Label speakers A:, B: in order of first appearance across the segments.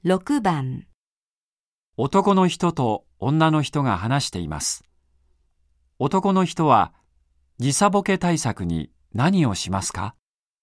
A: 6番。
B: 男の人と女の人が話しています。男の人は時差ボケ対策に何をしますか？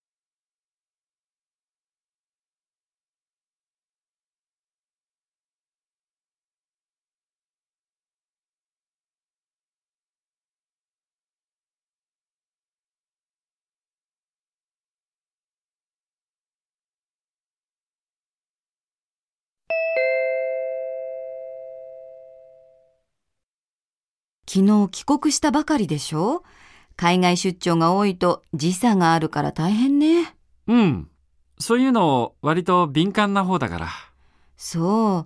A: 昨日帰国したばかりでしょ？海外出張が多いと時差があるから大変ね。
B: うん。そういうの割と敏感な方だから。
A: そう。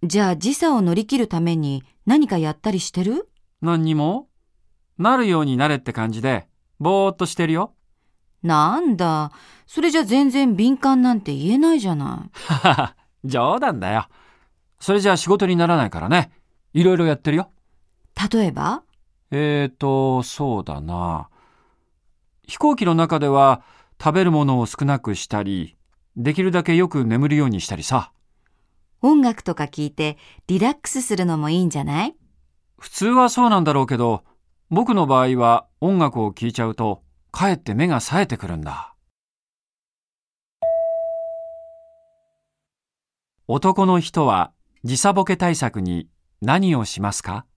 A: じゃあ時差を乗り切るために何かやったりしてる？
B: 何にも？なるようになれって感じでぼーっとしてるよ。
A: なんだ。それじゃ全然敏感なんて言えないじゃない。
B: ははは、冗談だよ。それじゃ仕事にならないからね。いろいろやってるよ。
A: 例えば？
B: そうだな。飛行機の中では食べるものを少なくしたり、できるだけよく眠るようにしたりさ。
A: 音楽とか聞いてリラックスするのもいいんじゃない？
B: 普通はそうなんだろうけど、僕の場合は音楽を聴いちゃうと、かえって目が冴えてくるんだ。男の人は時差ボケ対策に何をしますか？